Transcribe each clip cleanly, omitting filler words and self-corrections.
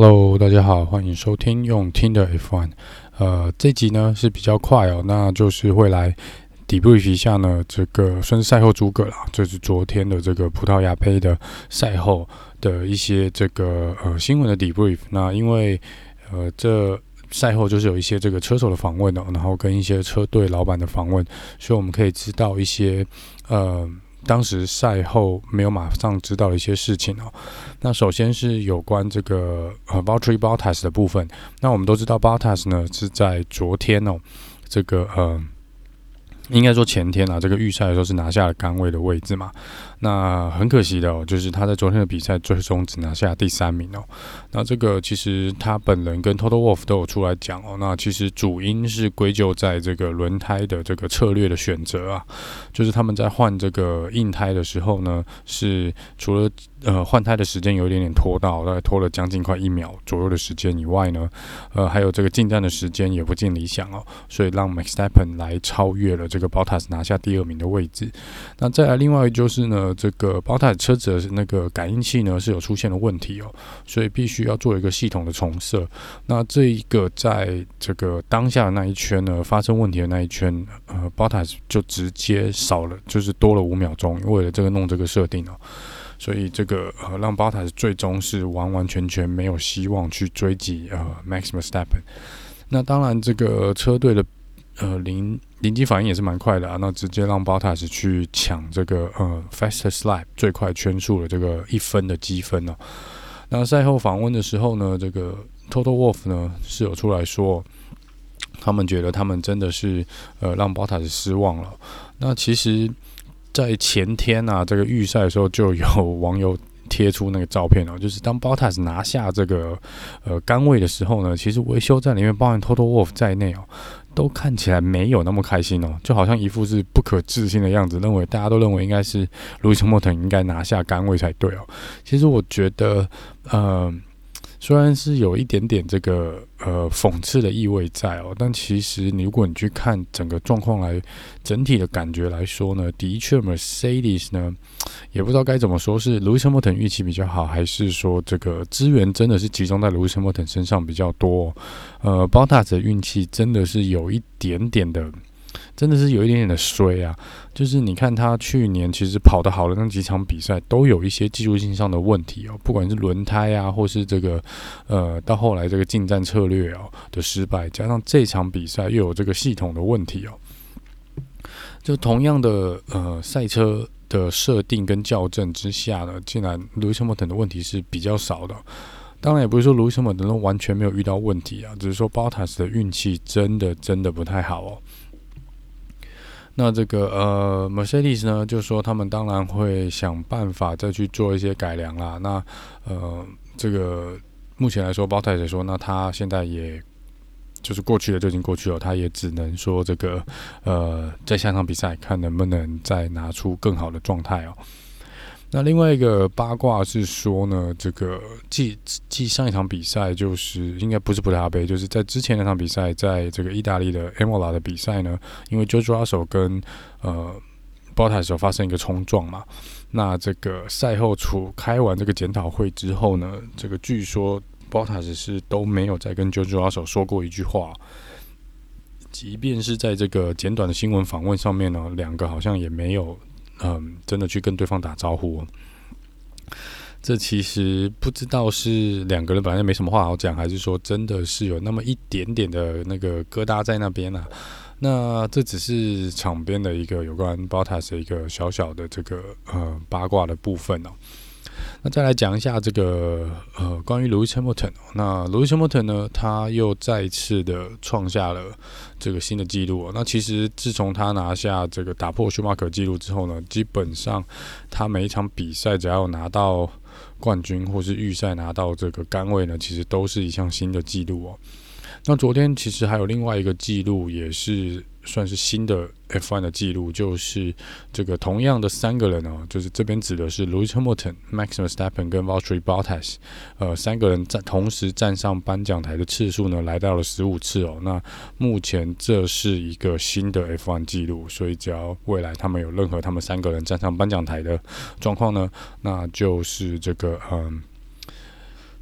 Hello， 大家好，歡迎收聽用聽的 F1。這集呢是比較快哦，那就是會來 debrief 一下呢，這個算是賽後諸葛啦，就是昨天的這個葡萄牙杯的賽後的一些這個新聞的 debrief。那因為這賽後就是有一些這個車手的訪問哦，然後跟一些車隊老闆的訪問，所以我們可以知道一些當時賽後沒有馬上知道的一些事情哦。那首先是有關這個Valtteri Bottas 的部分。那我們都知道 Bottas 呢是在昨天哦，這個應該說前天啊，這個預賽的時候是拿下了桿位的位置嘛。那很可惜的哦，就是他在昨天的比賽最終只拿下第3名哦。那這個其實他本人跟 Toto Wolff 都有出來講哦。那其實主因是歸咎在這個輪胎的這個策略的選擇啊，就是他們在換這個硬胎的時候呢，是除了換胎的時間有一點點拖到，大概拖了將近快1秒左右的時間以外呢，還有這個進站的時間也不盡理想哦，所以讓 Max Verstappen 來超越了這個 Bottas 拿下第2名的位置。那再來另外就是呢，這個 Bottas 車子的那個感應器呢是有出現了問題哦，所以必須要做一個系統的重設。那這一個在這個當下的那一圈呢，發生問題的那一圈，Bottas 就直接少了，就是多了5秒鐘，為了這個弄這個設定哦。所以這個讓 Bottas 最終是完完全全沒有希望去追擊Max Verstappen。那當然這個車隊的臨機反應也是蠻快的啊，那直接讓 Bottas 去搶這個fastest lap 最快圈數的這個1分的積分哦。那賽後訪問的時候呢，這個 Toto Wolff 呢是有出來說，他們覺得他們真的是讓 Bottas 失望了。那其實在前天啊，這個預賽的時候就有網友貼出那個照片哦，就是當 Bottas 拿下這個桿位的時候呢，其實維修站裡面包含 Toto Wolff 在內哦，都看起來沒有那麼開心哦，就好像一副是不可置信的樣子，大家都認為應該是 Lewis Hamilton 應該拿下桿位才對哦。其實我覺得雖然是有一點點這個諷刺的意味在哦，但其實如果你去看整個狀況來整體的感覺來說呢，的確 Mercedes 呢也不知道該怎麼說，是 Lewis Hamilton 運氣比較好，還是說這個資源真的是集中在 Lewis Hamilton 身上比較多哦。Bottas 的運氣真的是有一點點的。真的是有一點點的衰啊，就是你看他去年其實跑得好的那幾場比賽都有一些技術性上的問題哦，不管是輪胎啊，或是這個到後來這個進站策略哦的失敗，加上這場比賽又有這個系統的問題哦，就同樣的賽車的設定跟校正之下呢，竟然 Lewis Hamilton 的問題是比較少的。當然也不是說 Lewis Hamilton 完全沒有遇到問題啊，只是說 Bottas 的運氣真的不太好哦。那這個Mercedes 呢，就說他們當然會想辦法再去做一些改良啦。那這個目前來說 Bottas 也說，那他現在也就是過去了就已經過去了，他也只能說這個在下場比賽看能不能再拿出更好的狀態哦。那另外一個八卦是說呢，這個繼上一場比賽，就是應該不是葡萄牙杯，就是在之前那場比賽，在這個意大利的 Imola 的比賽呢，因為 George Russell 跟Bottas 有發生一個衝撞嘛，那這個賽後開完這個檢討會之後呢，這個據說 Bottas 是都沒有再跟 George Russell 說過一句話，即便是在這個簡短的新聞訪問上面呢，兩個好像也沒有。真的去跟對方打招呼哦，這其實不知道是兩個人本來就沒什麼話好講，還是說真的是有那麼一點點的那個疙瘩在那邊啊？那這只是場邊的一個有關 Bottas 的一個小小的這個八卦的部分哦。那再來講一下這個關於 Lewis Hamilton。那 Lewis Hamilton 呢，他又再一次的創下了這個新的紀錄哦。那其實自從他拿下這個打破舒馬克紀錄之後呢，基本上他每一場比賽只要有拿到冠軍或是預賽拿到這個桿位呢，其實都是一項新的紀錄哦。那昨天其實還有另外一個紀錄，也是算是新的 F1 的紀錄，就是這個同樣的3個人哦，就是這邊指的是 Lewis Hamilton、Max Verstappen 跟 Valtteri Bottas， 3個人同時站上頒獎台的次數呢，來到了15次哦。那目前這是一個新的 F1 紀錄，所以只要未來他們有任何他們3個人站上頒獎台的狀況呢，那就是這個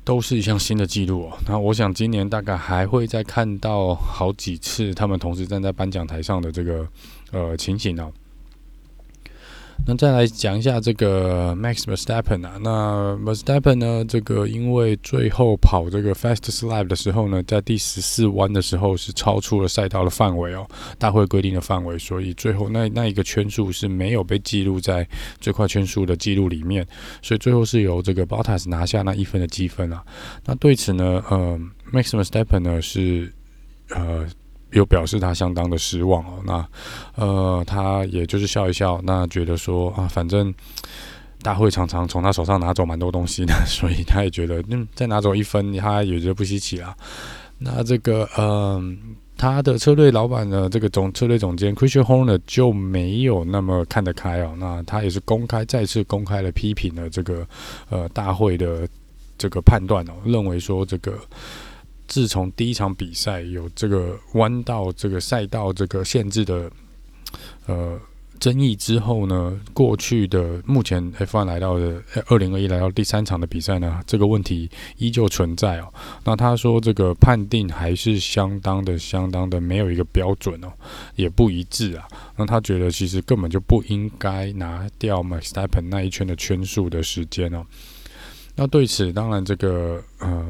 都是一項新的紀錄哦。那我想今年大概還會再看到好幾次他們同時站在頒獎台上的這個情形哦。那再來講一下這個 Max Verstappen 啊，那 Verstappen 呢，這個因為最後跑這個 Fastest Lap 的時候呢，在第14彎的時候是超出了賽道的範圍哦，大會規定的範圍，所以最後那一個圈數是沒有被記錄在最快圈數的記錄裡面，所以最後是由這個 Bottas 拿下那1分的積分啊。那對此呢，Max Verstappen 呢是有表示他相當的失望哦，那他也就是笑一笑，那覺得說啊，反正大會常常從他手上拿走蠻多東西的，所以他也覺得再拿走1分，他也覺得不稀奇啦。那這個他的車隊老闆呢，這個車隊總監 Christian Horner 就沒有那麼看得開哦，那他也是再次公開了批評了這個大會的這個判斷哦，認為說這個。自從第一場比賽有這個彎道這個賽道這個限制的爭議之後呢，過去的目前 F1 來到的2021來到第3場的比賽呢，這個問題依舊存在哦。那他說這個判定還是相當的沒有一個標準哦，也不一致啊。那他覺得其實根本就不應該拿掉 Verstappen 那一圈的圈數的時間哦。那對此，當然這個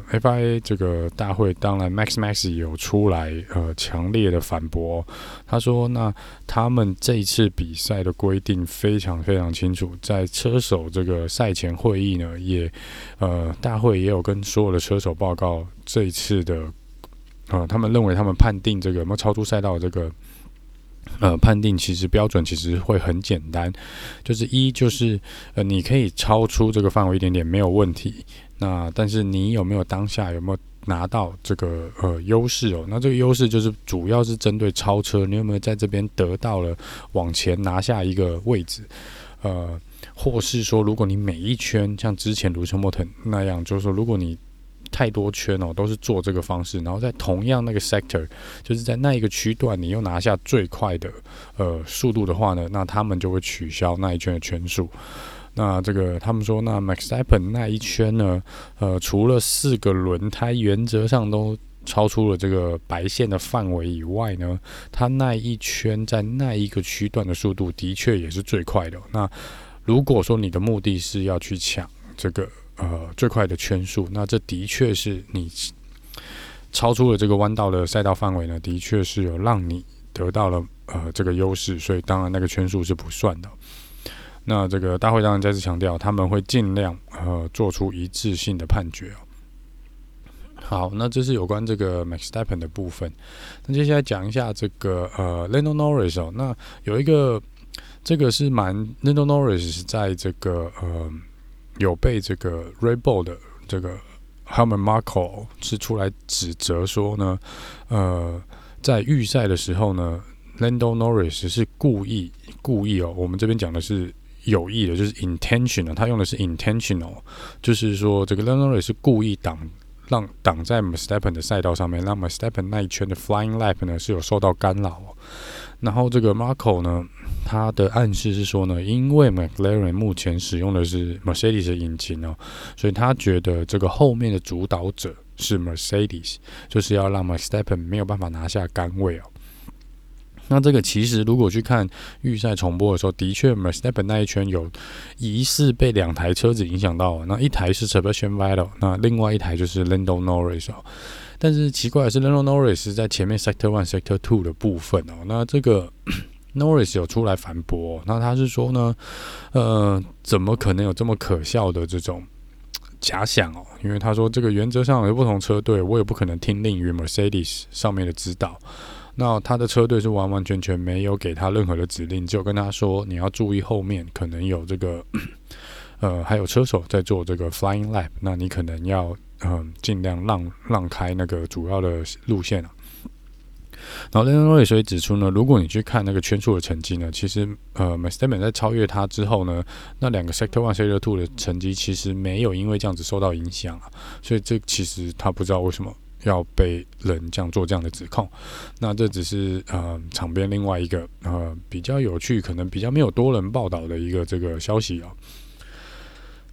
FIA 這個大會，當然 Max 有出來強烈的反駁哦。他說，那他們這一次比賽的規定非常清楚，在車手這個賽前會議呢，也大會也有跟所有的車手報告這一次的他們認為他們判定這個有沒有超出賽道的這個。判定其實標準其實會很簡單，就是就是你可以超出這個範圍一點點沒有問題，那但是你有沒有當下有沒有拿到這個優勢哦？那這個優勢就是主要是針對超車，你有沒有在這邊得到了往前拿下一個位置？或是說如果你每一圈像之前盧森堡那樣，就是說如果你太多圈哦，都是做這個方式，然後在同樣那個 sector， 就是在那一個區段，你又拿下最快的速度的話呢，那他們就會取消那一圈的圈數。那這個他們說，那 Verstappen 那一圈呢，除了4個輪胎原則上都超出了這個白線的範圍以外呢，他那一圈在那一個區段的速度的確也是最快的。那如果說你的目的是要去搶這個最快的圈數，那這的確是你超出了這個彎道的賽道範圍呢，的確是有讓你得到了這個優勢，所以當然那個圈數是不算的。那這個大會當然再次強調，他們會盡量做出一致性的判決哦。好，那這是有關這個 Verstappen 的部分。那接下來講一下這個Lando Norris 哦，那有一個這個是Lando Norris 在這個有被這個 Red Bull 的這個 Helmut Marko 是出來指責說呢，在預賽的時候呢 ，Lando Norris 是故意哦，我們這邊講的是有意的，就是 intentional， 他用的是 intentional， 就是說這個 Lando Norris 是故意擋在 Verstappen 的賽道上面，讓 Verstappen 那一圈的 Flying Lap 呢是有受到干擾哦。然後這個 Marko 呢，他的暗示是說呢，因為 McLaren 目前使用的是 Mercedes 的引擎哦，所以他覺得這個後面的主導者是 Mercedes， 就是要讓 Verstappen 沒有辦法拿下桿位哦。那這個其實如果去看預賽重播的時候，的確 Verstappen 那一圈有疑似被2台車子影響到，那一台是 Sebastian Vettel， 那另外一台就是 Lando Norris 哦。但是奇怪的是 Lando Norris 在前面 Sector 1 Sector 2的部分哦，那這個Norris 有出來反駁哦，那他是說呢，怎麼可能有這麼可笑的這種假想哦？因為他說這個原則上有不同車隊，我也不可能聽令於 Mercedes 上面的指導。那他的車隊是完完全全沒有給他任何的指令，只有跟他說你要注意後面可能有這個還有車手在做這個 Flying Lap， 那你可能要盡量讓開那個主要的路線啊。然後 Lando Norris 也指出呢，如果你去看那個圈數的成績呢，其實Verstappen 在超越他之後呢，那2個 Sector 1 Sector 2的成績其實沒有因為這樣子受到影響啊，所以這其實他不知道為什麼要被人這樣做這樣的指控。那這只是場邊另外一個比較有趣，可能比較沒有多人報道的一個這個消息哦。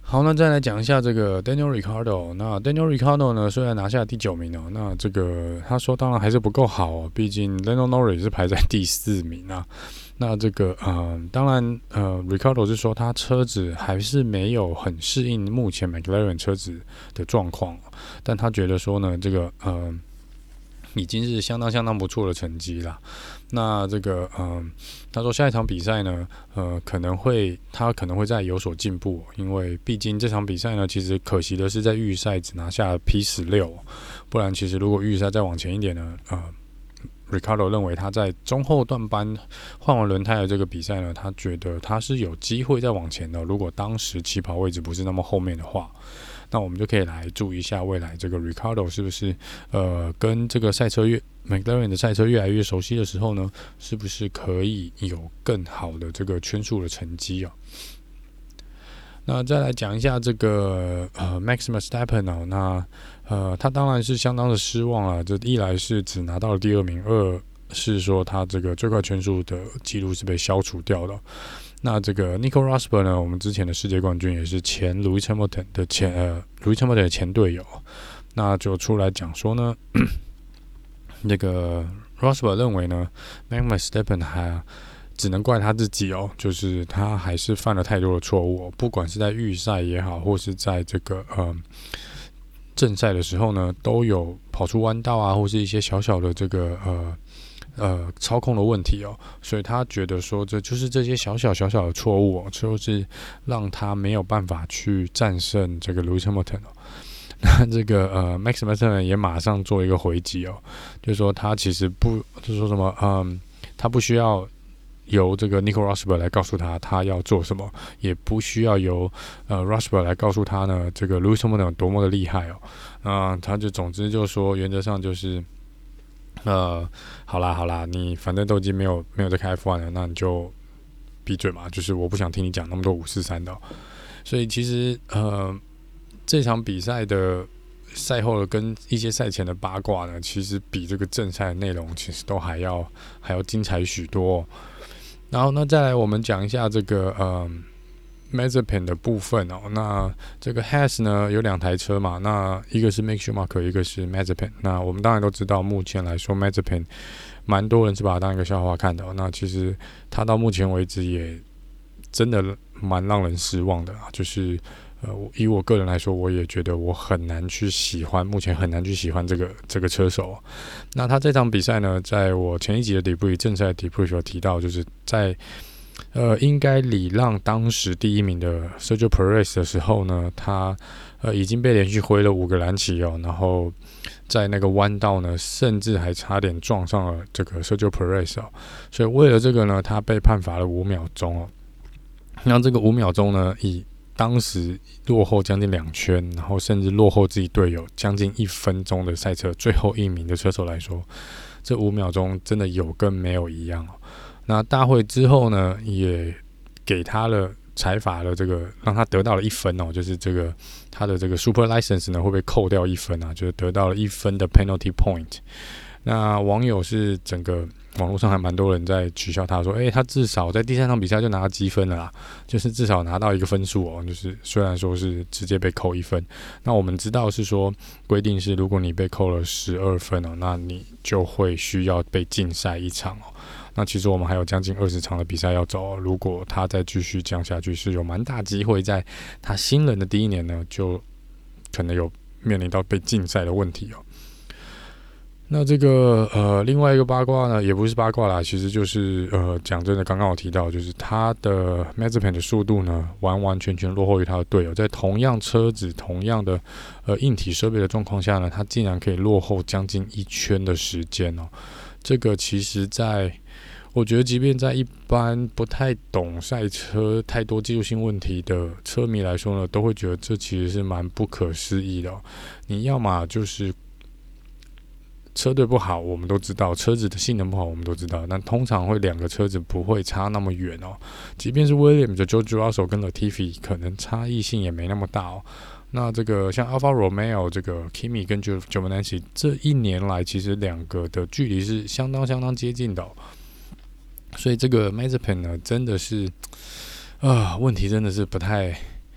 好，那再來講一下這個 Daniel Ricciardo。那 Daniel Ricciardo 呢，雖然拿下第9名哦，那這個他說當然還是不夠好哦，畢竟 Lando Norris 是排在第4名啊。那這個當然Ricciardo 是說他車子還是沒有很適應目前 McLaren 車子的狀況，但他覺得說呢，這個已經是相當不錯的成績啦。那這個他說下一場比賽呢，他可能會再有所進步，因為畢竟這場比賽呢，其實可惜的是在預賽只拿下了 P16，不然其實如果預賽再往前一點呢，Ricciardo 認為他在中後段班換完輪胎的這個比賽呢，他覺得他是有機會再往前的。如果當時起跑位置不是那麼後面的話，那我們就可以來注意一下未来這個 Ricciardo 是不是跟這個McLaren 的賽車越來越熟悉的時候呢，是不是可以有更好的這個圈數的成績啊？那再來講一下這個Max Verstappen 哦，那他當然是相當的失望了。這一來是只拿到了第2名，二是說他這個最快圈數的記錄是被消除掉的。那這個 Nico Rosberg 呢，我們之前的世界冠軍也是前 Lewis Hamilton 的前隊友，那就出來講說呢，那個 Rosberg 認為呢 Max Verstappen 還只能怪他自己哦，就是他還是犯了太多的錯誤，不管是在預賽也好，或是在這個正賽的時候呢，都有跑出彎道啊，或是一些小小的這個操控的問題哦，所以他覺得說這就是這些小小的錯誤哦，就是讓他沒有辦法去戰勝這個 Lewis Hamilton 哦。那這個Max Verstappen 也馬上做一個回擊哦，就是說他其實就是說什麼他不需要由這個 Nico Rosberg 來告訴他要做什麼，也不需要由Rosberg 來告訴他呢這個 Lewis Hamilton 有多麼的厲害哦。他就總之就說原則上就是好啦，你反正都已經沒有在開 F1 了，那你就閉嘴嘛，就是我不想聽你講那麼多543的。所以其實這場比賽的賽後的跟一些賽前的八卦呢，其實比這個正賽的內容其實都還要精彩許多。然後呢，再來我們講一下這個Mazepin 的部分哦。那這個 Haas 呢有2台車嘛，那一個是 Mick Schumacher， 一個是 Mazepin。那我們當然都知道，目前來說 Mazepin 蠻多人是把它當一個笑話看的哦。那其實他到目前為止也真的蠻讓人失望的啊，就是以我個人來說，我也覺得我很難去喜歡，目前很難去喜歡這個車手。那他這場比賽呢，在我前一集的 debrief 正賽 debrief 有提到，就是在應該禮讓當時第1名的 Sergio Perez 的時候呢，他已經被連續揮了5個藍旗哦，然後在那個彎道呢，甚至還差點撞上了這個 Sergio Perez 哦，所以為了這個呢，他被判罰了5秒鐘哦。那這個5秒鐘呢，以當時落後將近2圈，然後甚至落後自己隊友將近1分鐘的賽車最後1名的車手來說，這5秒鐘真的有跟沒有一樣哦。那大會之後呢，也給他了裁罰了這個，讓他得到了1分哦，就是這個他的這個 Super License 呢會被扣掉1分啊，就是得到了1分的 Penalty Point。那網友是整個網絡上還蠻多人在取笑他說，他至少在第3場比賽就拿到積分了啦，就是至少拿到一個分數哦，就是雖然說是直接被扣1分，那我們知道是說規定是如果你被扣了12分哦，那你就會需要被禁賽1場哦。那其實我們還有將近20場的比賽要走哦，如果他再繼續降下去，是有蠻大機會在他新人的第1年呢，就可能有面臨到被禁賽的問題哦。那這個另外一個八卦呢，也不是八卦啦，其實就是講真的，剛剛我提到，就是他的 Mazepin 的速度呢，完完全全落後於他的隊友，在同樣車子、同樣的硬體設備的狀況下呢，他竟然可以落後將近1圈的時間哦。這個其實我覺得即便在一般不太懂賽車、太多技術性問題的車迷來說呢，都會覺得這其實是蠻不可思議的哦。你要麼就是車隊不好，我們都知道；車子的性能不好，我們都知道。但通常會2個車子不會差那麼遠哦。即便是 Williams 的 George Russell 跟 Latifi， 可能差異性也沒那麼大哦。那這個像 Alfa Romeo 這個 Kimi 跟 Giovinazzi 這1年來，其實2個的距離是相當接近的哦。所以這個 Mazepin 呢，真的是問題真的是不太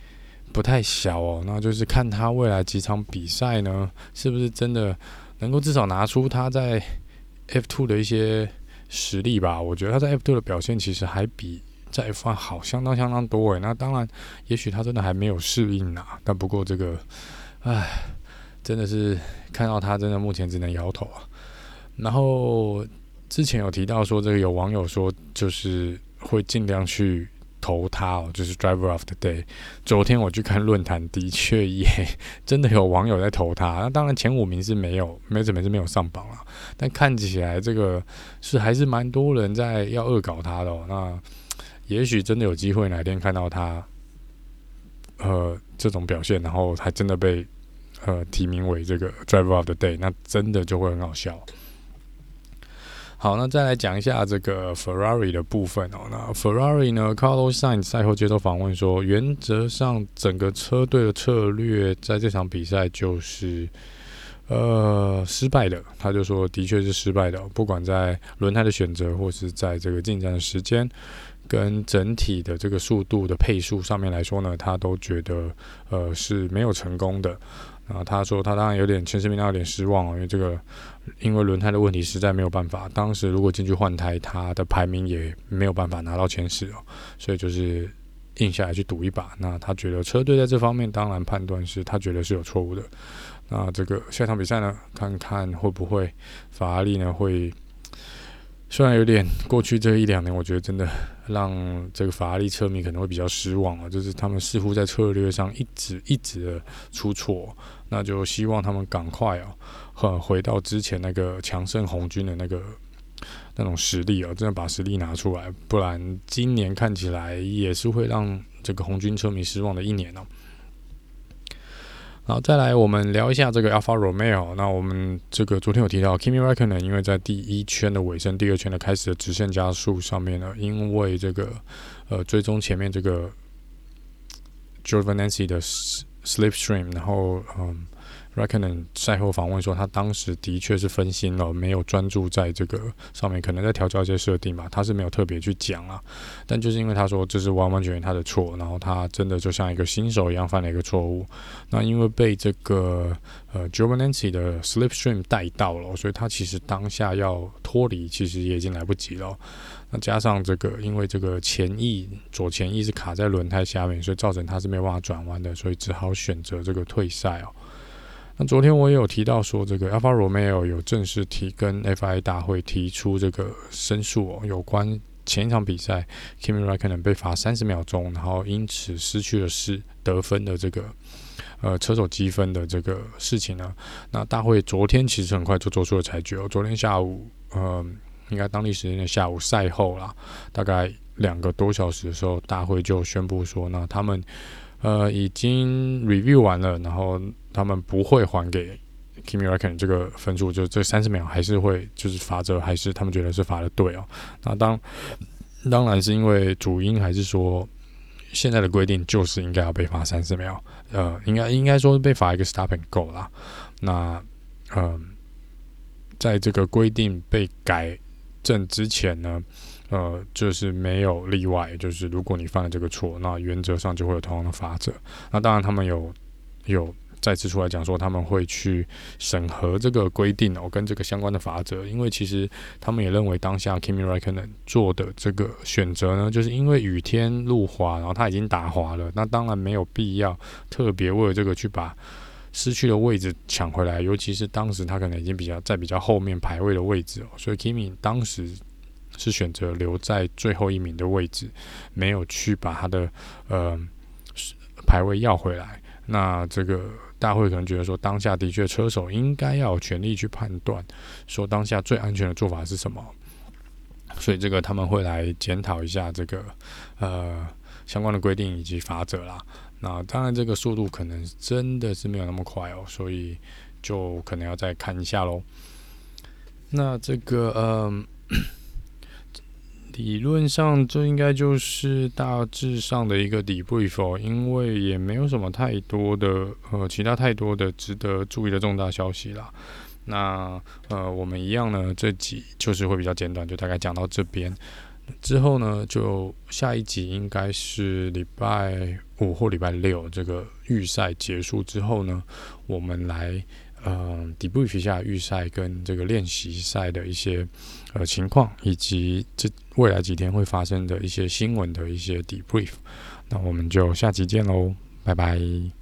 不太小哦。那就是看他未來幾場比賽呢，是不是真的能夠至少拿出他在 F2 的一些實力吧。我覺得他在 F2 的表現其實還比在 F1 好相當多誒。那當然，也許他真的還沒有適應啊。但不過這個，真的是看到他真的目前只能搖頭啊。然後之前有提到說，這個有網友說就是會盡量去投他哦，就是 Driver of the Day。昨天我去看論壇，的確也真的有網友在投他。那當然前5名是沒有上榜了，但看起來這個是還是蠻多人在要惡搞他的哦。那也許真的有機會哪天看到他這種表現，然後還真的被提名為這個 Driver of the Day， 那真的就會很好笑。好，那再來講一下這個 Ferrari 的部分哦。那 Ferrari 呢 ，Carlos Sainz 賽後接受訪問說，原則上整個車隊的策略在這場比賽就是失敗的。他就說，的確是失敗的，不管在輪胎的選擇，或是在這個進站的時間，跟整體的這個速度的配速上面來說呢，他都覺得是沒有成功的。他說他當然有點前10名有點失望哦，因為輪胎的問題實在沒有辦法。當時如果進去換胎，他的排名也沒有辦法拿到前10哦，所以就是硬下來去賭一把。那他覺得車隊在這方面當然判斷是他覺得是有錯誤的。那這個下場比賽呢，看看會不會法拉利呢會。雖然有點過去這1-2年，我覺得真的讓這個法拉利車迷可能會比較失望啊，就是他們似乎在策略上一直的出錯，那就希望他們趕快回到之前那個強勝紅軍的那種實力真的把實力拿出來，不然今年看起來也是會讓這個紅軍車迷失望的1年哦。好，再來我們聊一下這個 Alfa Romeo。那我們這個昨天有提到 Kimi Räikkönen 因為在第1圈的尾聲、第2圈的開始的直線加速上面呢，因為這個追蹤前面這個 Giovinazzi 的 slipstream， 然後Räikkönen 賽後訪問說，他當時的確是分心了，沒有專注在這個上面，可能在調教一些設定吧，他是沒有特別去講啊。但就是因為他說這是完完全全他的錯，然後他真的就像一個新手一樣犯了一個錯誤。那因為被這個Giovinazzi 的 slipstream 帶到了，所以他其實當下要脫離，其實也已經來不及了。那加上這個，因為這個左前翼是卡在輪胎下面，所以造成他是沒有辦法轉彎的，所以只好選擇這個退賽哦。那昨天我也有提到說，這個 Alfa Romeo 有正式跟 FIA 大會提出這個申訴哦，有關前一場比賽 Kimi Räikkönen 被罰30秒鐘，然後因此失去了得分的這個車手積分的這個事情呢。那大會昨天其實很快就做出了裁決哦，昨天下午應該當地時間的下午賽後啦，大概2個多小時的時候，大會就宣布說，那他們已經 review 完了，然後他們不會還給 Kimi Räikkönen 這個分數，就這30秒還是會就是罰則，還是他們覺得是罰的對哦。那當然是因為主因還是說現在的規定就是應該要被罰30秒，應該說被罰一個 stop and go 啦。那在這個規定被改正之前呢，就是沒有例外，就是如果你犯了這個錯，那原則上就會有同樣的罰則。那當然他們有再次出來講說，他們會去審核這個規定跟這個相關的罰則，因為其實他們也認為當下 Kimi Räikkönen 做的這個選擇呢，就是因為雨天路滑，然後他已經打滑了，那當然沒有必要特別為了這個去把失去的位置搶回來，尤其是當時他可能已經在比較後面排位的位置所以 Kimi 當時是選擇留在最後1名的位置，沒有去把他的排位要回來。那這個大會可能覺得說，當下的確車手應該要有權利去判斷，說當下最安全的做法是什麼。所以這個他們會來檢討一下這個相關的規定以及罰則啦。那當然這個速度可能真的是沒有那麼快所以就可能要再看一下咯。那這個理論上這應該就是大致上的一個 debrief因為也沒有什麼太多的其他太多的值得注意的重大消息啦。那我們一樣呢，這集就是會比較簡短，就大概講到這邊。 之後呢，就下一集應該是禮拜5或禮拜6，這個預賽結束之後呢，我們來debrief 一下預賽跟這個練習賽的一些情況，以及這未來幾天會發生的一些新聞的一些 debrief。那我們就下集見嘍，拜拜。